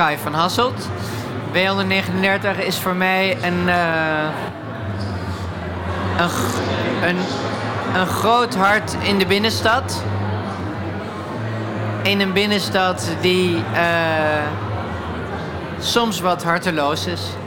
Kai van Hasselt. W139 is voor mij een groot hart in de binnenstad. In een binnenstad die soms wat harteloos is.